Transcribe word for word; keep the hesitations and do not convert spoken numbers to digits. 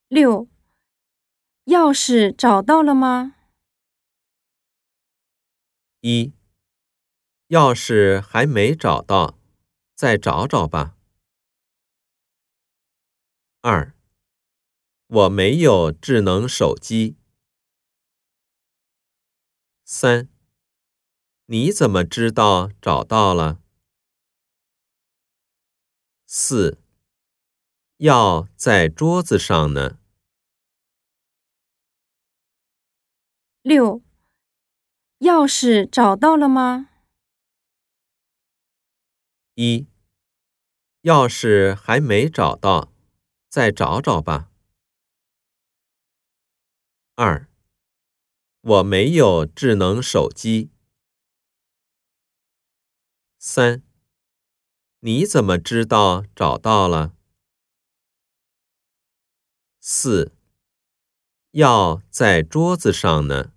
六，钥匙找到了吗？ 一，钥匙还没找到，再找找吧。二，我没有智能手机。三，你怎么知道找到了？四，药在桌子上呢。 六，钥匙找到了吗？ 一，钥匙还没找到，再找找吧。二，我没有智能手机。三，你怎么知道找到了？四，药在桌子上呢。